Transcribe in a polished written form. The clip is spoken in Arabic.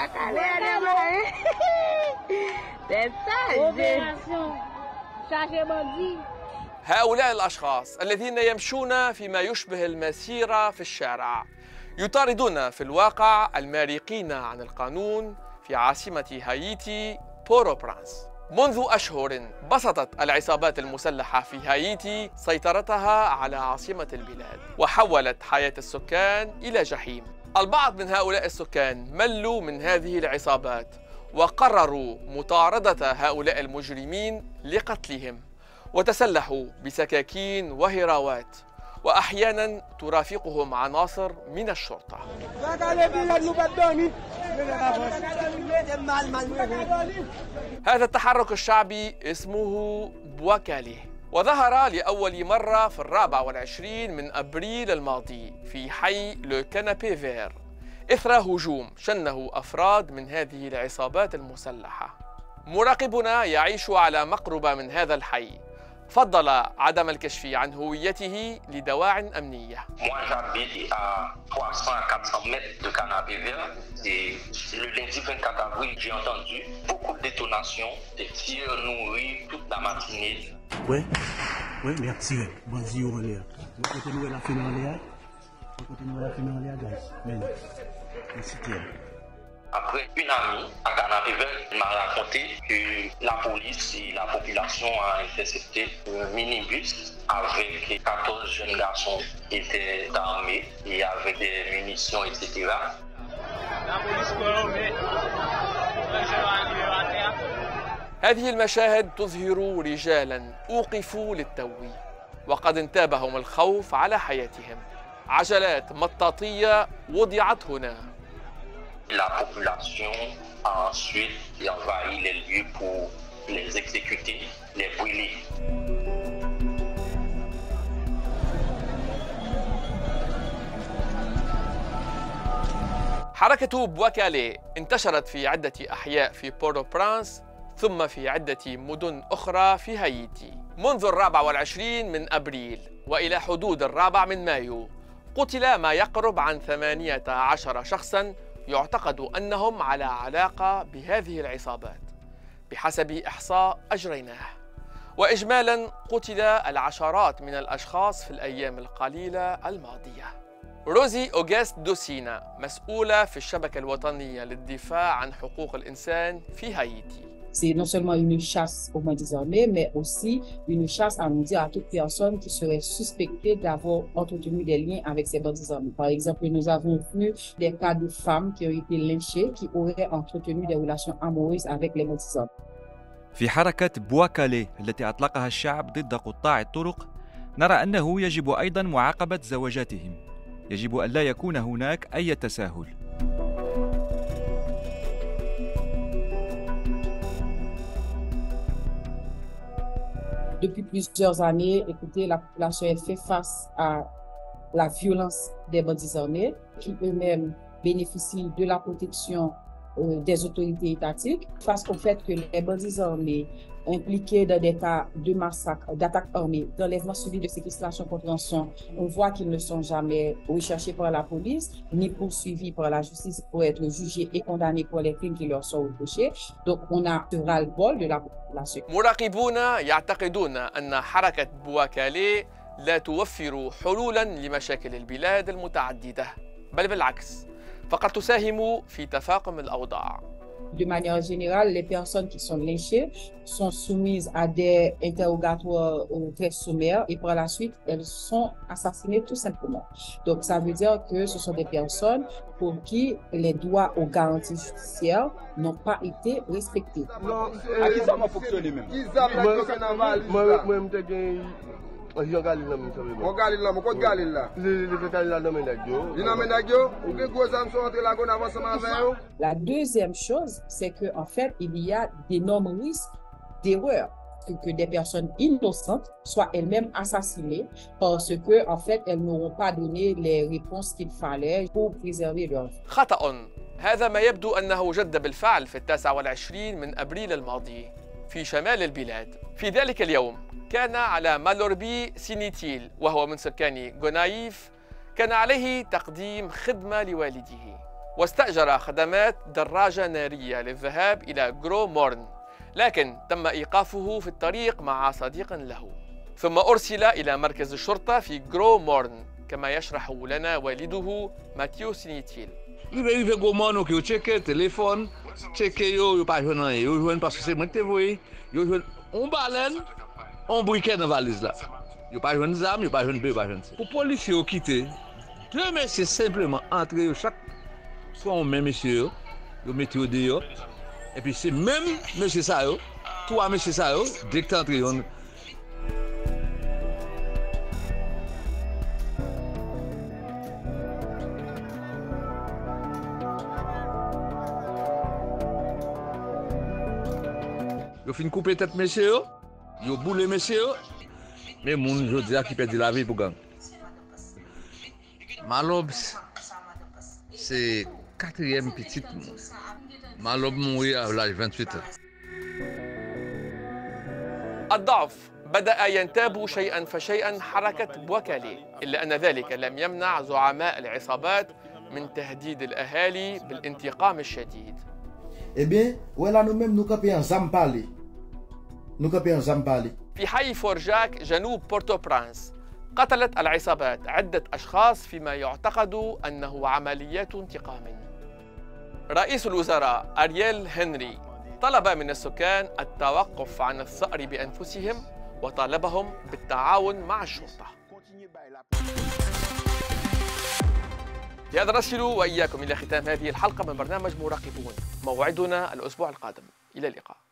هؤلاء الأشخاص الذين يمشون فيما يشبه المسيرة في الشارع يطاردون في الواقع المارقين عن القانون في عاصمة هايتي بورو برانس. منذ أشهر بسطت العصابات المسلحة في هايتي سيطرتها على عاصمة البلاد وحولت حياة السكان إلى جحيم. البعض من هؤلاء السكان ملوا من هذه العصابات وقرروا مطاردة هؤلاء المجرمين لقتلهم، وتسلحوا بسكاكين وهراوات، وأحيانا ترافقهم عناصر من الشرطة. هذا التحرك الشعبي اسمه بواكالي، وظهر لأول مرة في 24 من أبريل الماضي في حي لو كانابي فير إثر هجوم شنه أفراد من هذه العصابات المسلحة. مراقبنا يعيش على مقربة من هذا الحي فضل عدم الكشف عن هويته لدواع أمنية. Moi j'habite à 300-400 mètres de Canapé-Vert et le lundi 24 avril j'ai entendu beaucoup de détonations, des tirs nourris toute la matinée. Oui, merci. Vas-y, on va on continue la finale. On continue la finale, guys. Merci. Après, une amie à Canapé-Vert m'a raconté que la police et la population ont intercepté un minibus avec 14 jeunes garçons qui étaient armés et avec des munitions, etc. هذه المشاهد تظهر رجالا أوقفوا للتو وقد انتابهم الخوف على حياتهم. عجلات مطاطية وضعت هنا. La population a ensuite envahi les lieux pour les exécuter, les brûler. حركة بواكالي انتشرت في عدة أحياء في بورو برانس ثم في عدة مدن أخرى في هايتي. منذ 24 من أبريل وإلى حدود 4 من مايو قتل ما يقرب عن 18 شخصاً يعتقد أنهم على علاقة بهذه العصابات بحسب إحصاء أجريناه. وإجمالاً قتل العشرات من الأشخاص في الأيام القليلة الماضية. روزي أوغست دوسينا مسؤولة في الشبكة الوطنية للدفاع عن حقوق الإنسان في هايتي. C'est non seulement une chasse aux bandits armés, mais aussi une chasse à nous dire à toute personne qui serait suspectée d'avoir entretenu des liens avec ces bandits armés. Par exemple, nous avons vu des cas de femmes qui ont été lynchées, qui auraient entretenu des relations amoureuses avec les bandits armés. في حركة بواكالي التي أطلقها الشعب ضد قطاع الطرق، نرى أنه يجب أيضاً معاقبة زواجاتهم. يجب أن لا يكون هناك أي تساهل. Depuis plusieurs années, écoutez, la population fait face à la violence des bandits armés qui eux-mêmes bénéficient de la protection des autorités étatiques face au fait que les bandits armés impliqués dans des cas de massacre, d'attaques armées, d'enlèvement suivi de séquestration contre rançon, on voit qu'ils ne sont jamais recherchés par la police ni poursuivis par la justice pour être jugés et condamnés pour les crimes qui leur sont reprochés. Donc on a ce ras-le-bol de la population. مراقبون يعتقدون أن حركة بواكالي لا توفر حلولاً لمشاكل البلاد المتعددة، بل بالعكس فقد تساهم في تفاقم الأوضاع. De manière générale, les personnes qui sont lynchées sont soumises à des interrogatoires très sommaires et par la suite, elles sont assassinées tout simplement. Donc, ça veut dire que ce sont des personnes pour qui les droits aux garanties judiciaires n'ont pas été respectés. À qui ça va fonctionner même? La deuxième chose, c'est qu'en fait, il y a d'énormes risques d'erreur. Que des personnes innocentes soient elles-mêmes assassinées parce que, en fait, elles n'auront pas donné les réponses qu'il fallait pour préserver leur vie. خطأ. هذا ما يبدو أنه جد بالفعل في 29 من أبريل الماضي في شمال البلاد. في ذلك اليوم كان على مالوربي سينيتيل وهو من سكان غونايف كان عليه تقديم خدمة لوالده، واستأجر خدمات دراجة نارية للذهاب إلى غرو مورن، لكن تم إيقافه في الطريق مع صديق له، ثم أرسل إلى مركز الشرطة في غرو مورن كما يشرح لنا والده ماتيو سينيتيل. Rive goman ou ki yo cheke téléphone, cheke yo pas joindre rien, yo joindre parce que c'est moi qui te voyé, yo joindre on baleine, on briquet dans valise là. Yo pas joindre zam, yo pas joindre peu, pas joindre. Pour policier yo quitter, deux messieurs simplement entrer yo chaque soit on même monsieur yo mettez au dehors et puis c'est même monsieur ça yo, trois monsieur ça yo, dès que entrer on yo fin couper tête monsieur, yo boule monsieur, mais moun je dis qui perd la vie pour gang. Malob c'est quatrième petite. Malob mourir à l'âge 28 ans. الضعف بدأ ينتاب شيئا فشيئا حركة بوكالي، إلا أن ذلك لم يمنع زعماء العصابات من تهديد الأهالي بالانتقام الشديد. Eh bien, voilà nous-mêmes nous camper en Zampali. Nous camper en Zampali. في حي فورجاك جنوب بورتو برانس قتلت العصابات عدة أشخاص فيما يعتقد أنه عمليات انتقام. رئيس الوزراء أرييل هنري طلب من السكان التوقف عن الثأر بأنفسهم وطالبهم بالتعاون مع الشرطة. بهذا نصل وإياكم إلى ختام هذه الحلقة من برنامج مراقبون، موعدنا الأسبوع القادم، إلى اللقاء.